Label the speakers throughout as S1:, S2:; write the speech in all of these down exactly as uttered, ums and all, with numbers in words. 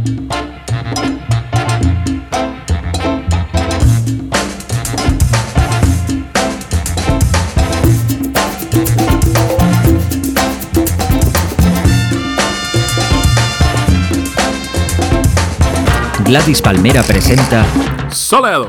S1: Gladys Palmera presenta
S2: Soleado.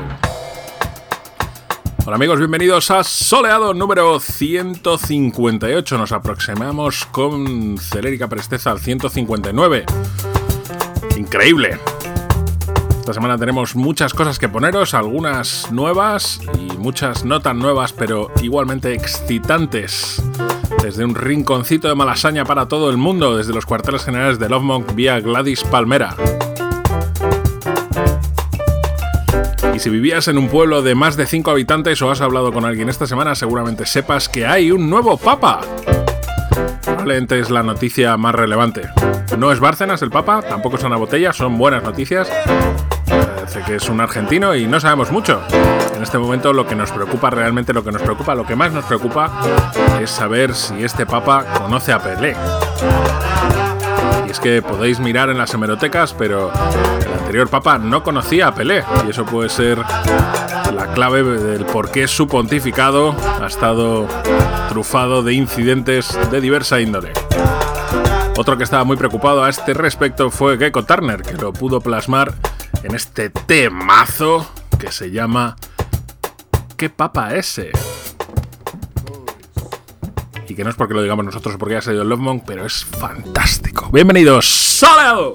S2: Hola amigos, bienvenidos a Soleado número ciento cincuenta y ocho. Nos aproximamos con celérica presteza al ciento cincuenta y nueve. Increíble. Esta semana tenemos muchas cosas que poneros, algunas nuevas y muchas no tan nuevas, pero igualmente excitantes. Desde un rinconcito de Malasaña para todo el mundo, desde los cuarteles generales de Love Monk vía Gladys Palmera. Y si vivías en un pueblo de más de cinco habitantes o has hablado con alguien esta semana, seguramente sepas que hay un nuevo papa. Probablemente es la noticia más relevante. No es Bárcenas el papa, tampoco es una botella, son buenas noticias. Parece que es un argentino y no sabemos mucho. En este momento lo que nos preocupa, realmente lo que nos preocupa, lo que más nos preocupa es saber si este papa conoce a Pelé. Y es que podéis mirar en las hemerotecas, pero el anterior papa no conocía a Pelé, y eso puede ser la clave del por qué su pontificado ha estado trufado de incidentes de diversa índole. Otro que estaba muy preocupado a este respecto fue Gecko Turner, que lo pudo plasmar en este temazo que se llama ¿Qué papa ese? Y que no es porque lo digamos nosotros o porque haya salido el Love Monk, pero es fantástico. ¡Bienvenidos! ¡Soleado!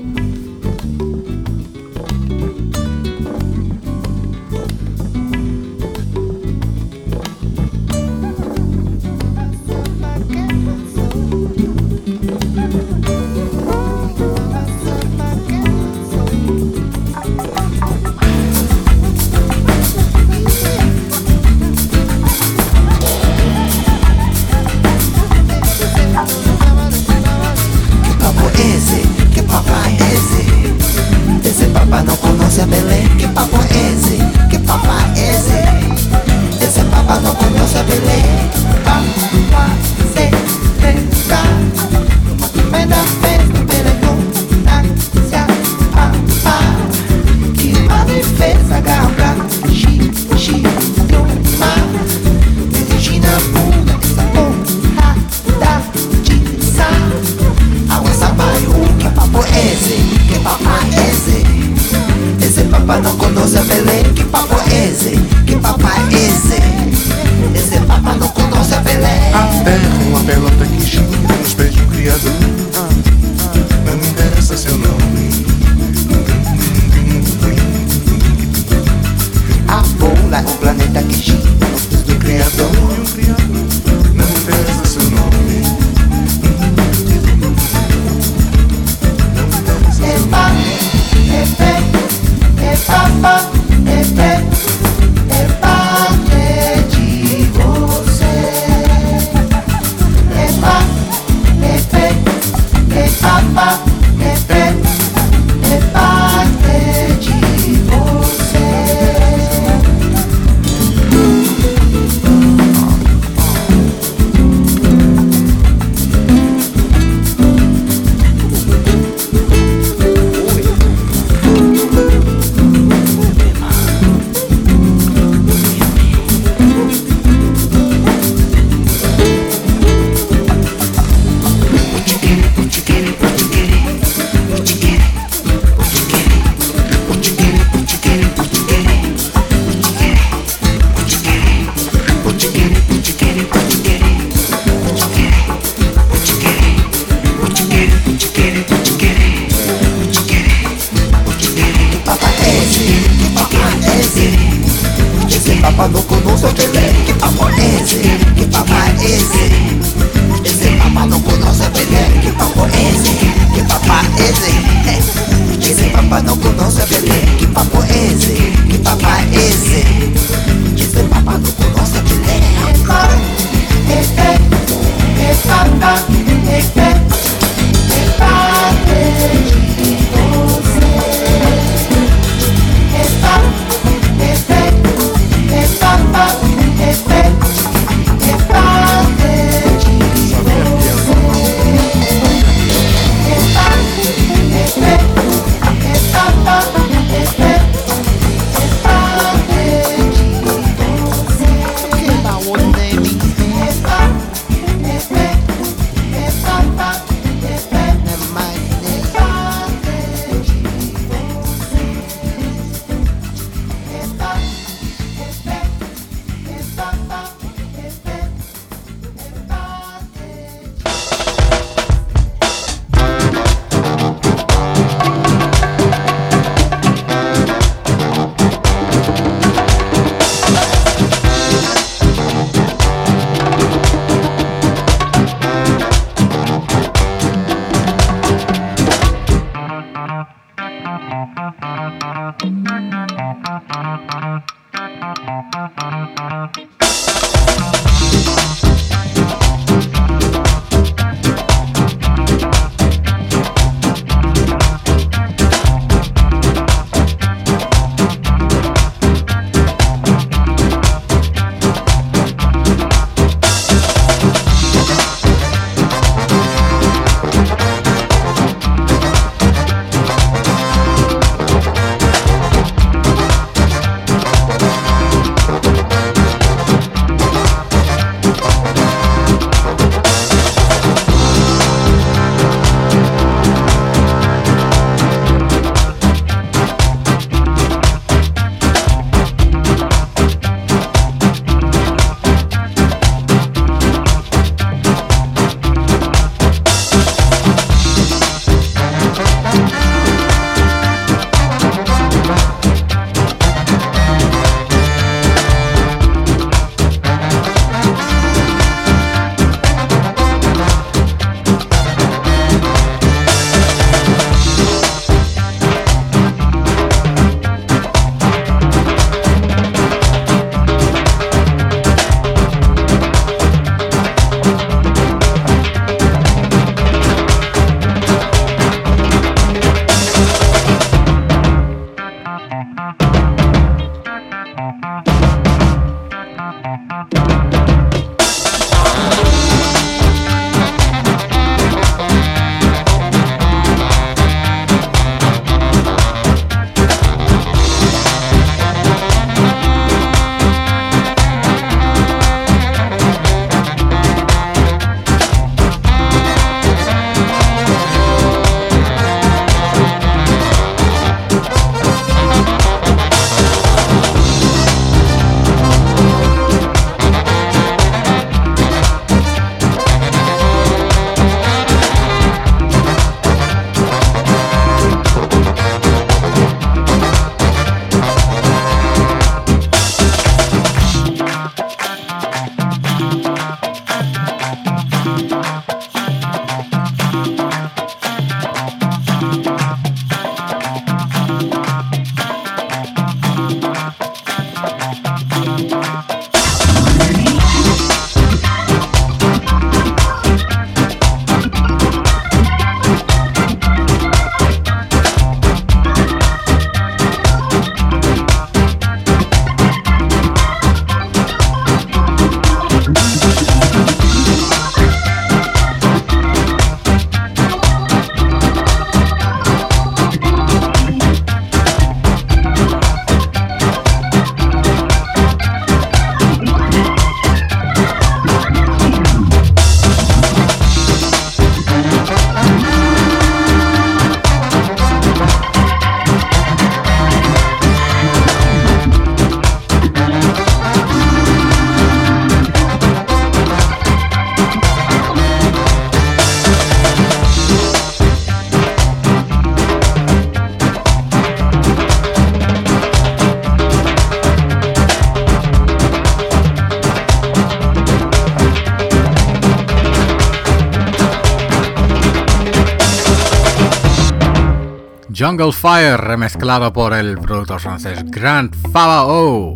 S3: Jungle Fire, remezclado por el productor francés Grand Fabao,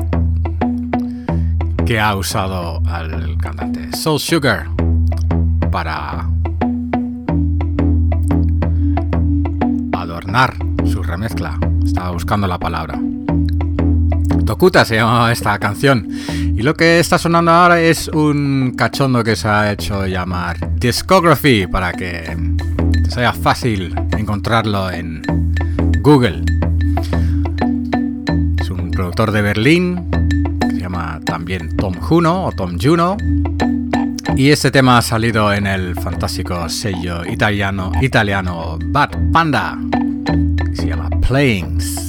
S3: que ha usado al cantante Soul Sugar para adornar su remezcla. Estaba buscando la palabra. Tokuta se llama esta canción, y lo que está sonando ahora es un cachondo que se ha hecho llamar Discography, para que sea fácil encontrarlo en Google. Es un productor de Berlín que se llama también Tom Juno o Tom Juno, y este tema ha salido en el fantástico sello italiano italiano Bad Panda, que se llama Plains.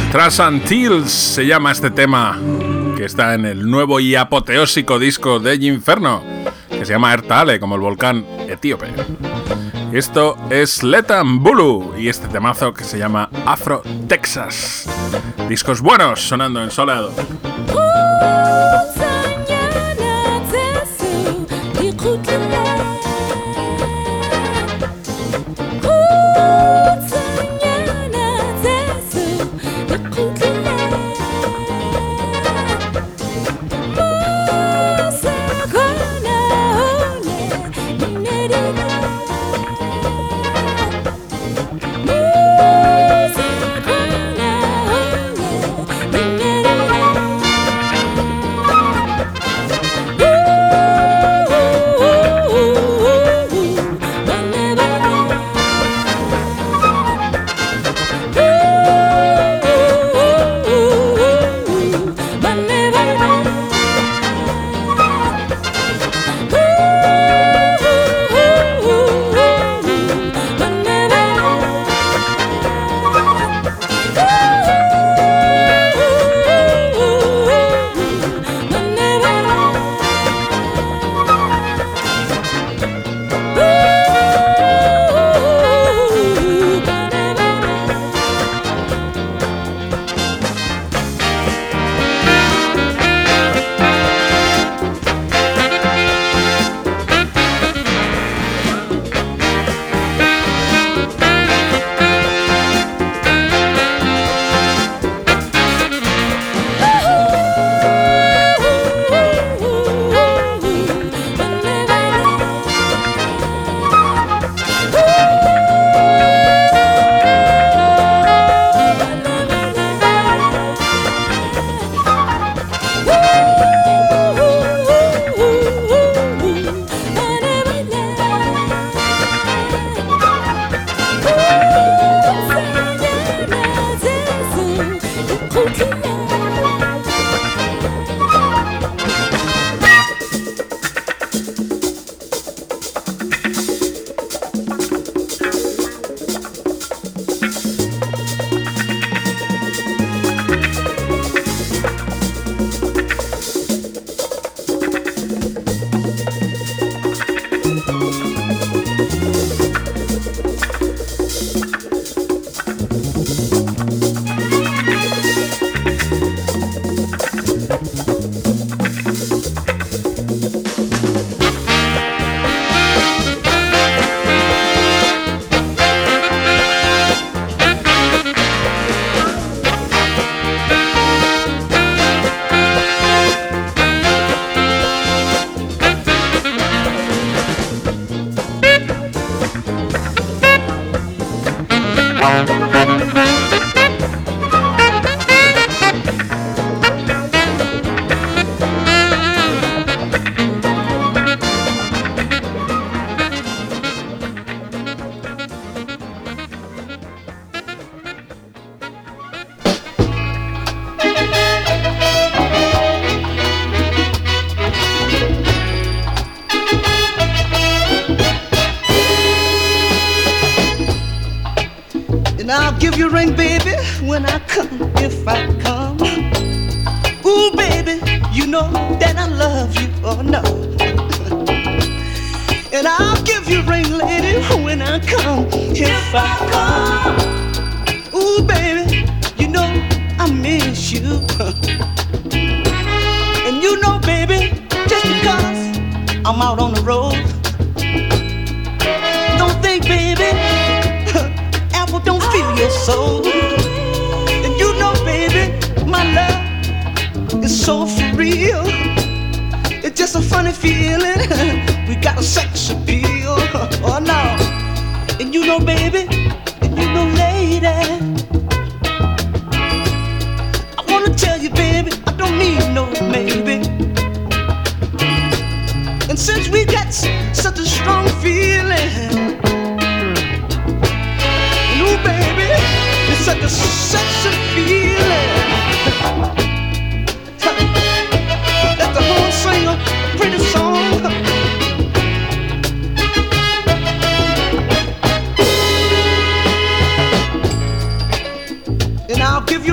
S2: Trash and Teals se llama este tema, que está en el nuevo y apoteósico disco de Inferno, que se llama Ertaale, como el volcán etíope. Esto es Letan Bulu y este temazo que se llama Afro Texas. Discos buenos sonando en Soleado.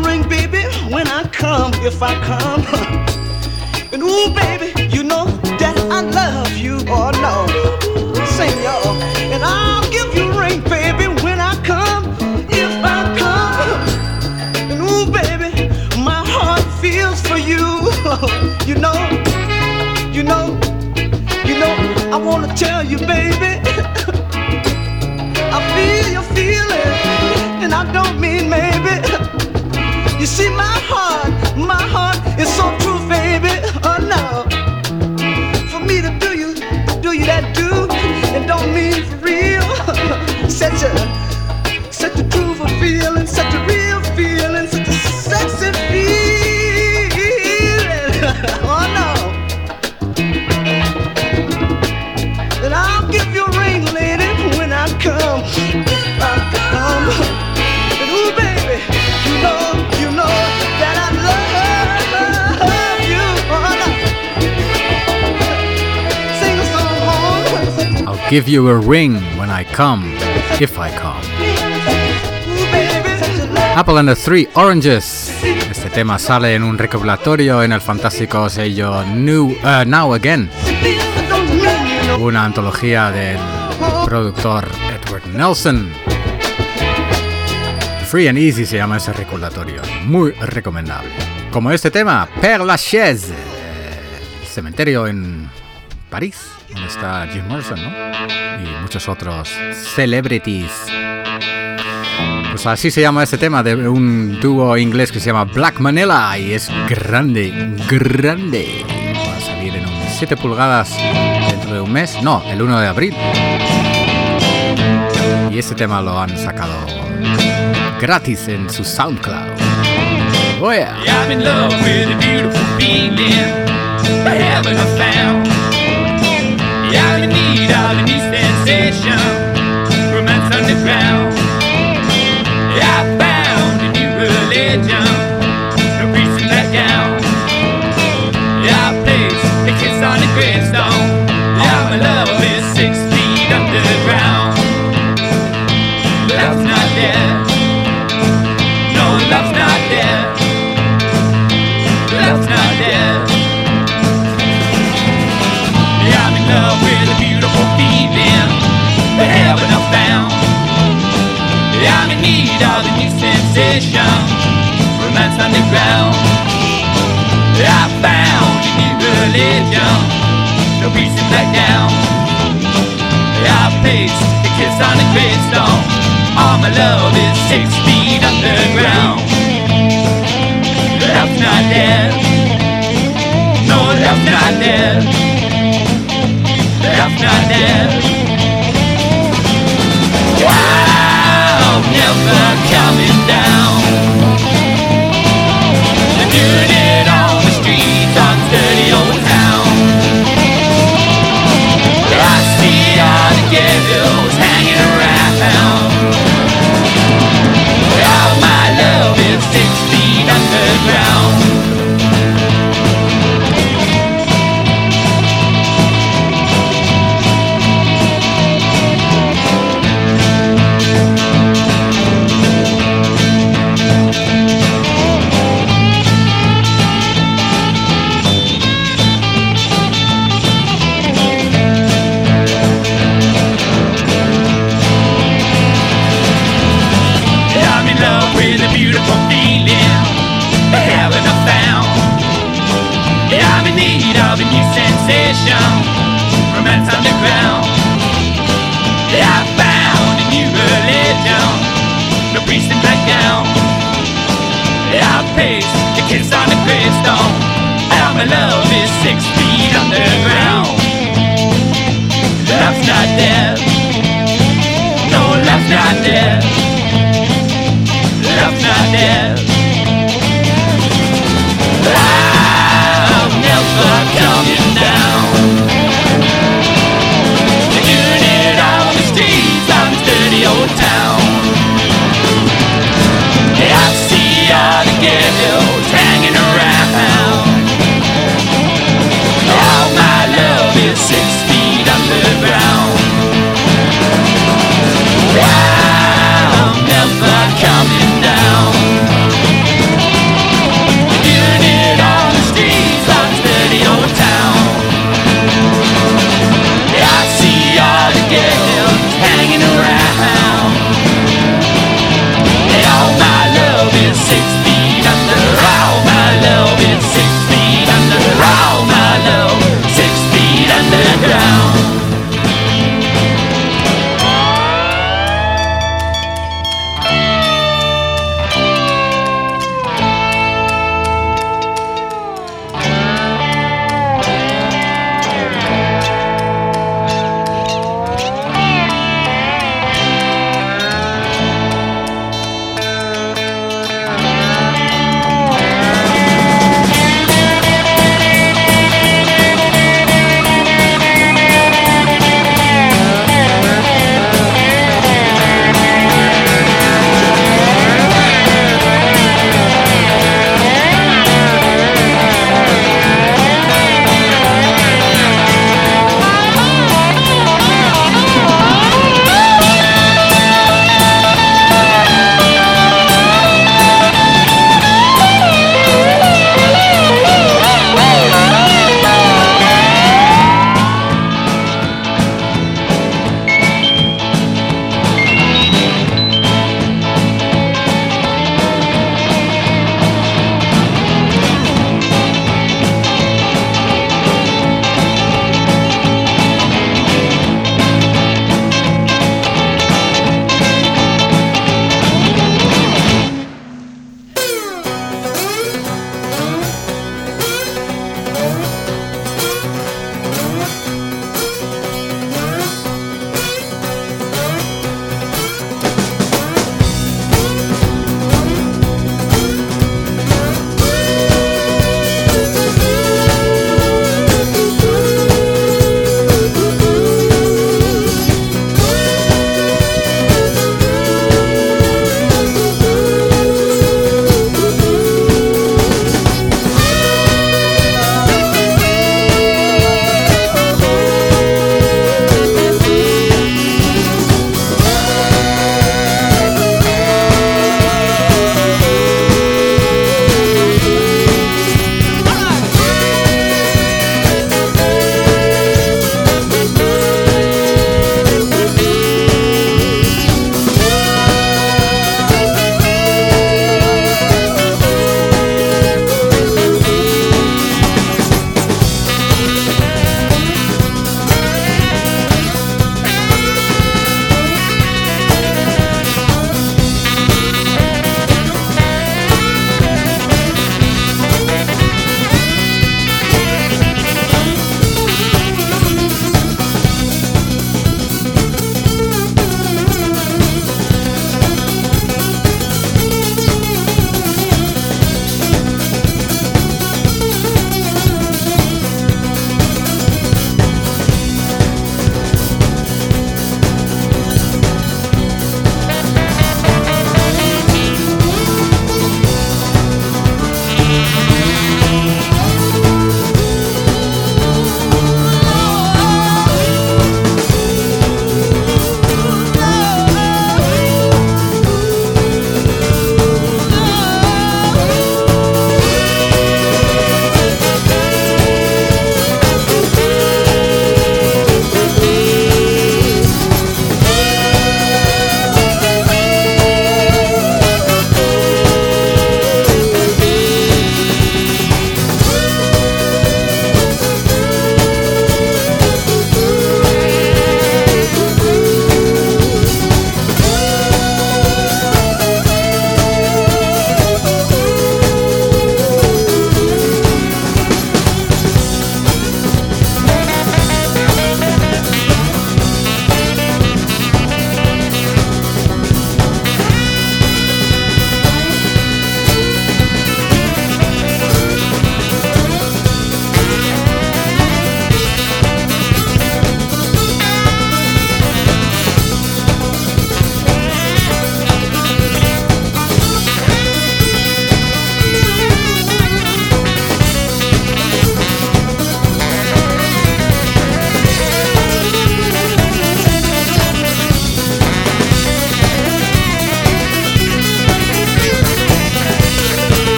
S4: ring, baby, when I come, if I come. And ooh, baby, you know that I love you, oh no. Sing, y'all. And I'll give you a ring, baby, when I come, if I come. And ooh, baby, my heart feels for you. You know, you know, you know, I wanna tell you, baby, I feel your feeling, and I don't mean maybe. You see, my heart, my heart is so true, baby. Oh no, for me to do you, do you that do, and don't mean for real. Such a, such a true feeling, such a real feeling, such a sexy feeling. Oh no, and I'll give you a ring, lady, when I come, if I come. And ooh, baby, you know, you know that I love you. Oh no, sing a song.
S3: I'll give you a ring when I come, if I come. Apple and the Three Oranges. Este tema sale en un recopilatorio en el fantástico sello New, uh, Now Again, una antología del productor Edward Nelson. Free and Easy se llama ese recopilatorio, muy recomendable. Como este tema, Père Lachaise, el cementerio en París, donde está Jim Morrison, ¿no? Y muchos otros celebrities. Pues así se llama este tema de un dúo inglés que se llama Black Manila y es grande, grande. Va a salir en un siete pulgadas dentro de un mes, no, el uno de abril. Y este tema lo han sacado gratis en su SoundCloud. Oh yeah.
S5: I'm in love with a beautiful feeling, the heaven I found. Yeah, I'm in need of a new sensation, romance underground. Yeah, I found a new religion, no priest in that gown. Yeah, I place a kiss on a gravestone. Yeah, my love is six feet underground. Love's not dead. No, love's not dead. Love's not dead. Yeah, I'm in love with a beautiful feeling, the heaven I found. Yeah, I'm in need of a new sensation, romance underground. Yeah, I found a new religion, no peace in back down. Yeah, I placed a kiss on a gravestone. All my love is six feet underground. Love's not dead. No, love's not dead. Love's not dead. Wow, never coming down. They're doing it on the streets of this dirty old town. I see all the ghettos hanging around. All my love is six feet underground. Romance underground. Yeah, I found a new religion, no priest in black gown. Yeah, I paced a kiss on a gravestone. Now my love is six feet underground. Love's not dead. No, love's not dead. Love's not dead. I'm never coming down. They're doing it on the streets of this dirty old town. Yeah, I see all the ghettos hanging around. All my love is six feet underground. I'm never coming down.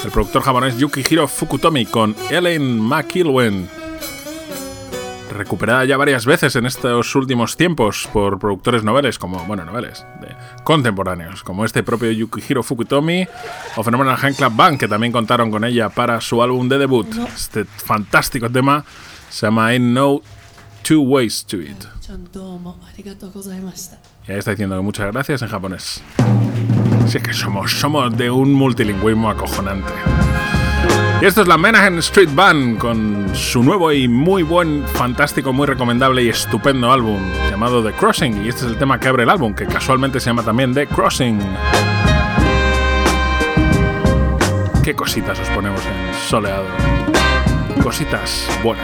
S2: el productor japonés Yukihiro Fukutomi con Ellen McIlwain, recuperada ya varias veces en estos últimos tiempos por productores noveles, como, bueno, noveles de contemporáneos, como este propio Yukihiro Fukutomi o Phenomenal Handclap Band, que también contaron con ella para su álbum de debut. Este fantástico tema se llama Ain't No Two Ways to It. Y ahí está diciendo que muchas gracias en japonés. Si es que somos, somos de un multilingüismo acojonante. Y esto es la Menahem Street Band con su nuevo y muy buen, fantástico, muy recomendable y estupendo álbum llamado The Crossing. Y este es el tema que abre el álbum, que casualmente se llama también The Crossing. Qué cositas os ponemos en soleado. Cositas buenas.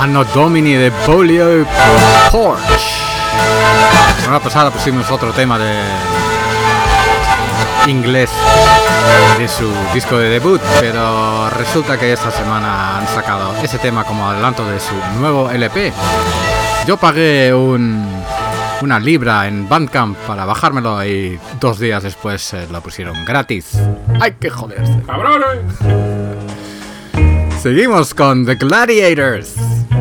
S3: Anno Domini de Bolio Porch. La semana pasada pusimos otro tema de inglés de su disco de debut, pero resulta que esta semana han sacado ese tema como adelanto de su nuevo L P. Yo pagué un, una libra en Bandcamp para bajármelo y dos días después eh, lo pusieron gratis. ¡Ay, qué joderse!
S2: ¡Cabrones!
S3: Seguimos con The Gladiators.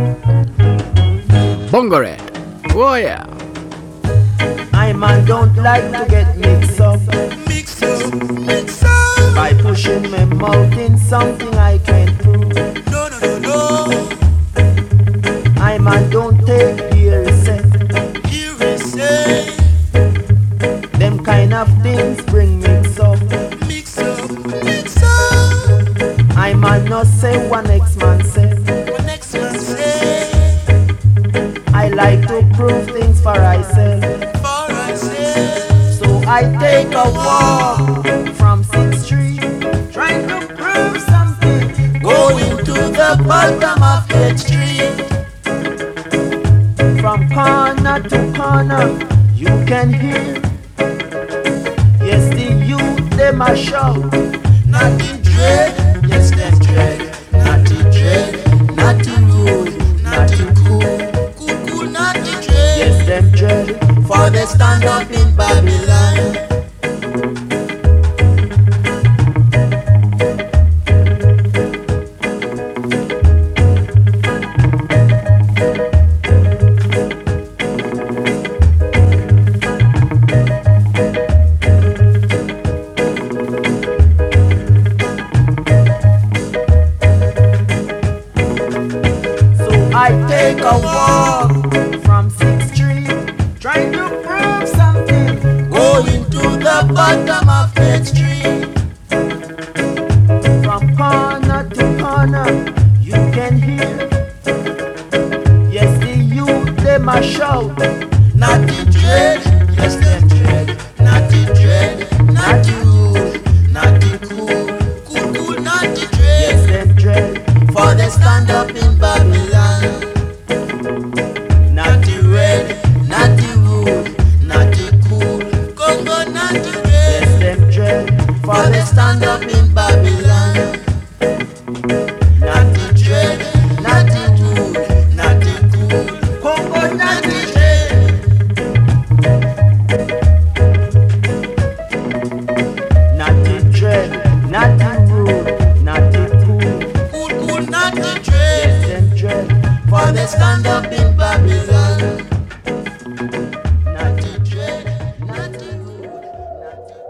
S3: Bongo Red. Oh yeah.
S6: I man don't like to get mixed up, mixed up, mixed up by pushing my mouth in something I can't prove. No, no, no, no. I man don't take hearsay, hearsay. Them kind of things bring mix up, mix up, mix up. I man not say one next man say, one next man say. I like to prove things for myself. So I take a walk from sixth street, trying to prove something, going to the bottom of eighth street. From corner to corner, you can hear, yes, the youth, them a shout, not the dread, yes, them dread, not the dread, not the rude, not the cool, cool, cool, not the dread, yes, them dread. For they stand up in Babylon. So I take a walk from sixth street, trying to prove something, going to the bottom of eighth street. From corner to corner, you can hear, yes, the youth, them a shout, not the dread, yes, them dread, not the dread, not the rude, not the cool, cool, cool, not the dread, yes, them dread, for they stand up in Babylon. Not the red, not the rude, not the cool, Congo, not the red. Yes, them dread, for they stand up in Babylon. Not the dread, not the rude, not the cool, Congo, not the dread. Not the dread, not the rude, not the cool, cool, cool, not the dread. Yes, them dread, for they stand up in Babylon. Not the dread, not the rude, not the...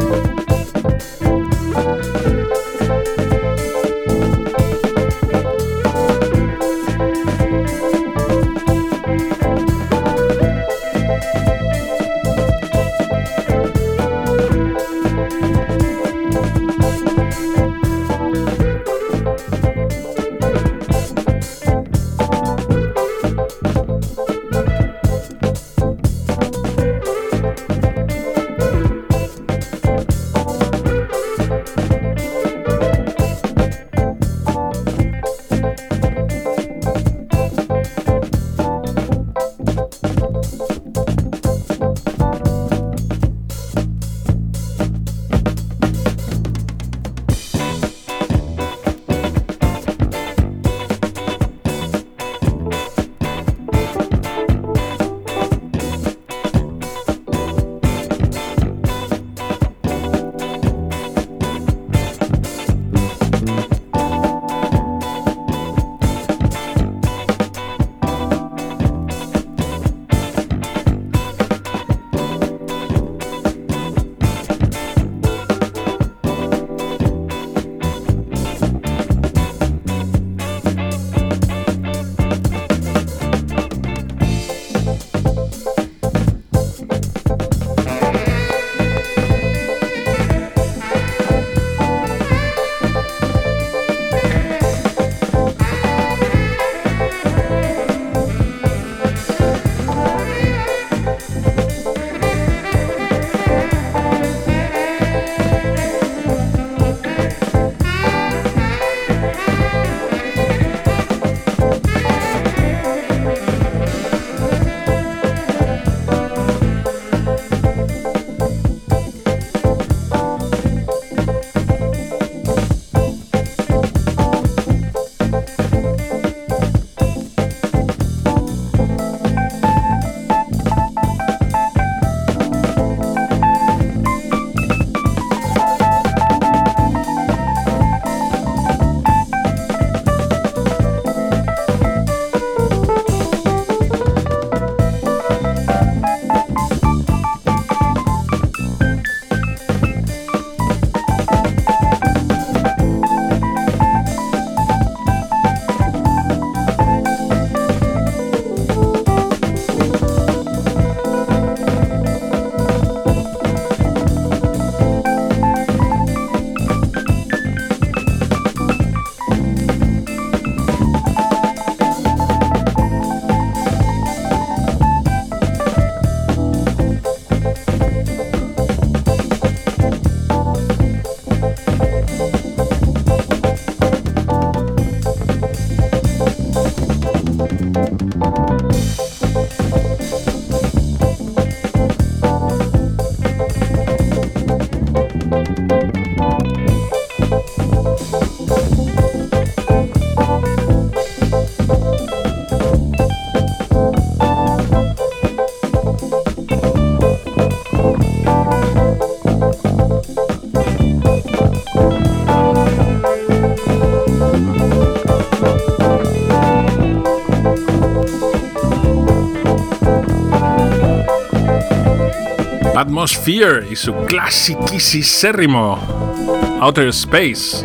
S2: Atmosphere y su clasiquísimo Outer Space,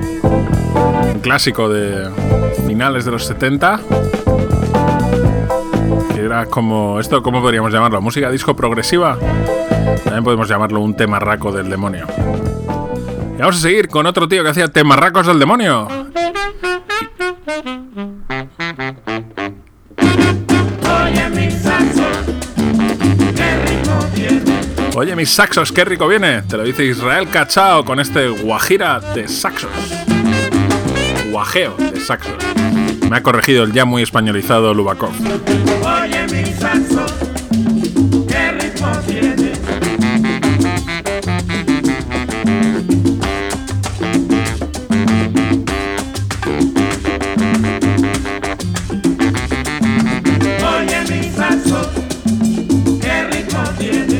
S2: un clásico de finales de los setenta, que era como esto, ¿cómo podríamos llamarlo? Música disco progresiva. También podemos llamarlo un temarraco del demonio. Y vamos a seguir con otro tío que hacía temarracos del demonio. Oye, mis saxos, qué rico viene. Te lo dice Israel Cachao con este guajira de saxos. Guajeo de saxos. Me ha corregido el ya muy españolizado Lubakov.
S5: Oye, mis saxos, qué ritmo tiene. Oye, mis saxos, qué ritmo tiene.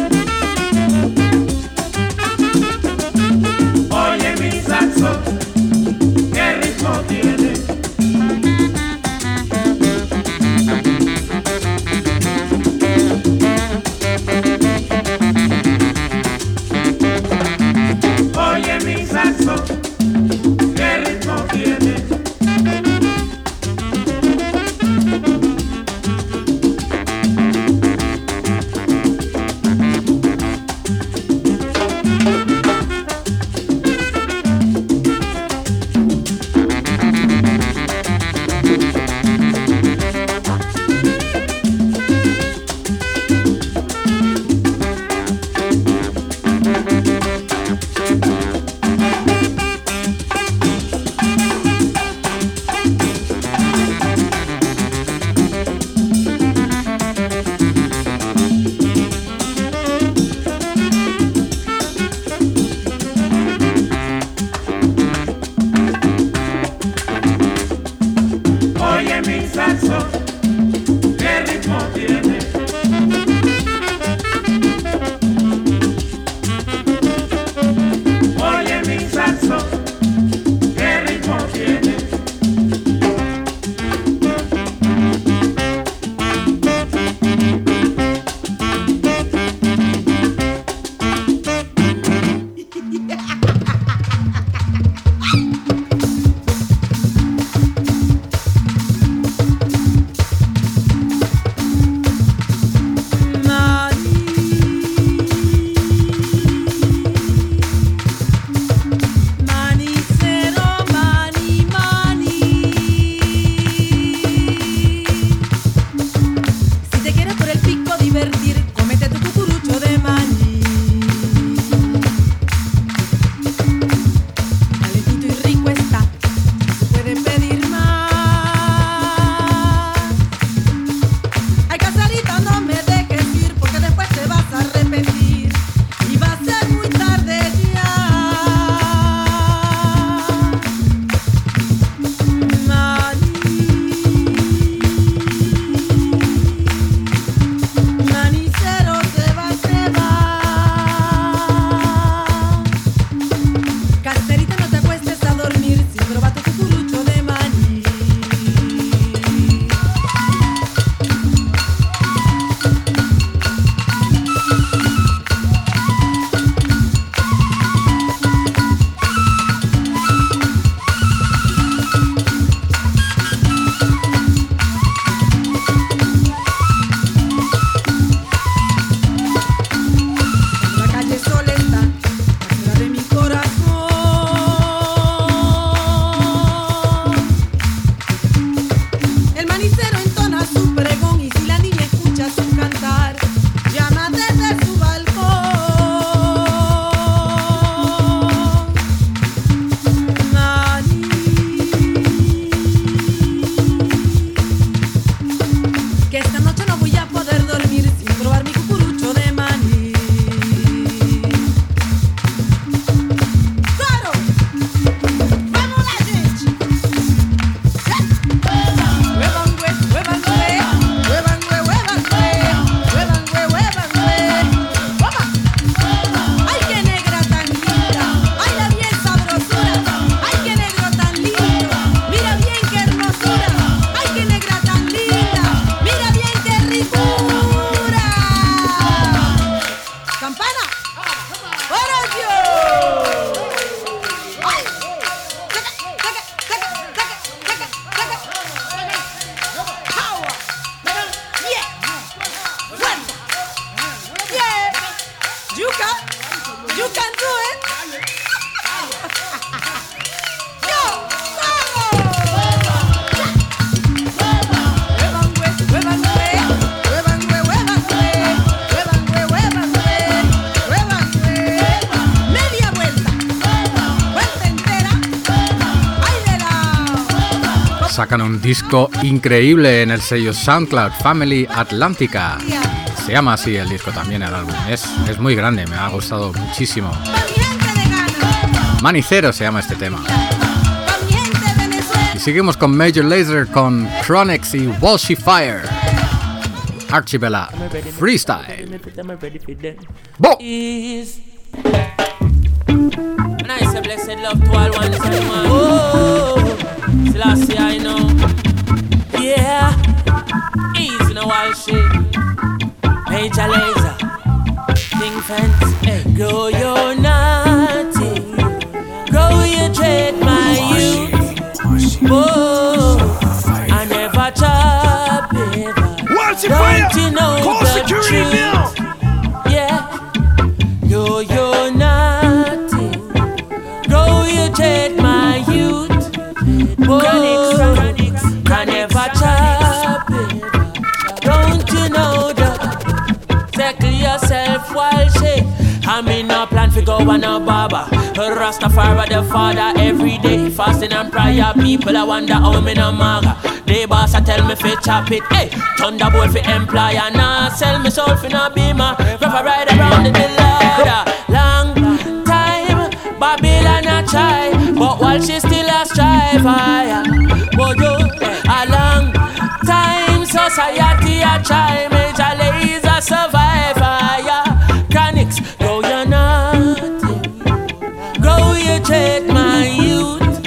S5: Oye, mi saxo,
S7: que esta noche no voy a poder dormir sin probar mi cucurucho de maní. Claro, vamos lá, gente. Huevangue, huevangue, huevangue, huevangue, huevangue, Toma. Ay, qué negra tan linda. Ay, la bien sabrosura. Ay, qué negro tan lindo. Mira bien qué hermosura. Ay, qué negra tan linda. Mira bien qué ricura. Campana. ¡Para Dios! Ay. Taca, taca, taca, taca, taca, taca. Power. Yeah. Fuerza. Yeah. You can. You can do it. Go. Huevangue, huevangue, huevangue, huevangue, huevangue, huevangue, huevangue. Media vuelta. Vuelta entera. Ay, de la.
S3: Sacan un disco increíble en el sello SoundCloud Family Atlántica. Se llama así el disco también, el álbum. Es, es muy grande, me ha gustado muchísimo.
S7: Pa' mi gente de Ghana.
S3: Manicero se llama este tema.
S7: Pa' mi gente de Venezuela.
S3: Y seguimos con Major Lazer con Chronix y Walshy Fire. Archibella Freestyle. Bo.
S8: Is and I say blessed love to all ones and one. Oh, Selassie I know. Yeah, easy no all shit. Major Lazer, King Fence, hey. Grow your naughty, grow your trade my youth. Whoa, I never chop it. Don't you know the truth? Yeah, grow your naughty, grow your trade my youth. Whoa, I never chop it. Don't you know the Tackle yourself while shake. I'm in a plan for go on a barber. Rastafari the father every day. Fasting and prayer, people I wonder how me no maga. They boss I tell me fi chop it. Hey, Thunderbolt fi employer. Nah, sell me soul fi no beamer. Rough ride around the ladder. Long time, Babylon a try, but while she still a strive, I oh yo, a long time society a try. Major Lazer survive, yeah. Chronix, grow your nothing, grow your trade, my youth.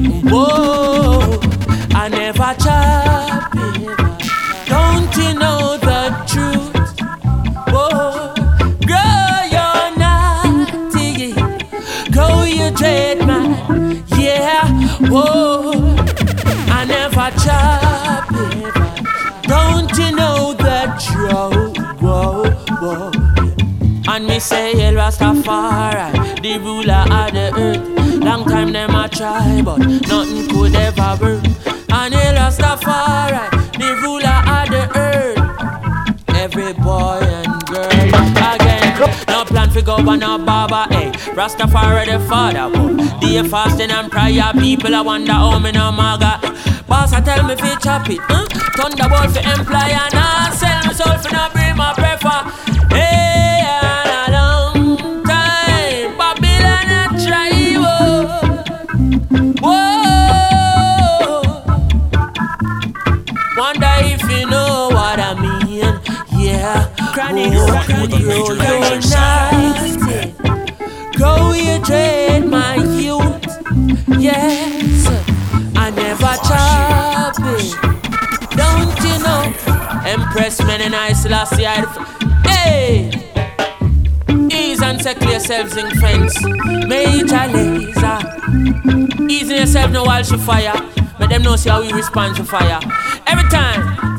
S8: Whoa, I never chop it. Don't you know the truth? Whoa, grow your nothing, grow your trade, my yeah. Whoa, I never chop it. Don't you know the truth? Whoa, whoa. And me say El Rastafari, the ruler of the earth. Long time them a try, but nothing could ever work. And El Rastafari, the ruler of the earth. Every boy and girl again. No plan for go on a barber, eh? Rastafari the father, but day fasting and prayer. People I wonder how me no maga. Boss I tell me fi chop it, huh? Thunderbolt for employer, nah sell me soul for no bring my prefer. Hey, and a long time, Babylon a try, whoa, whoa. Wonder if you know what I mean, yeah. Chronix, grow your nasty, grow your trade, my youth, yes. I never chop it. Don't you know? Empress men and I Selassie I hey! Ease and settle yourselves in fence. Major Lazer. Ease yourself no while she fire. But them know see how we respond to fire. Every time